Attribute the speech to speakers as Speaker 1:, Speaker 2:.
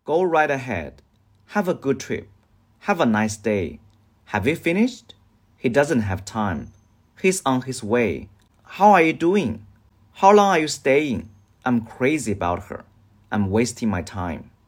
Speaker 1: Go right ahead. Have a good trip. Have a nice day. Have you finished? He doesn't have time. He's on his way. How are you doing? How long are you staying? I'm crazy about her. I'm wasting my time.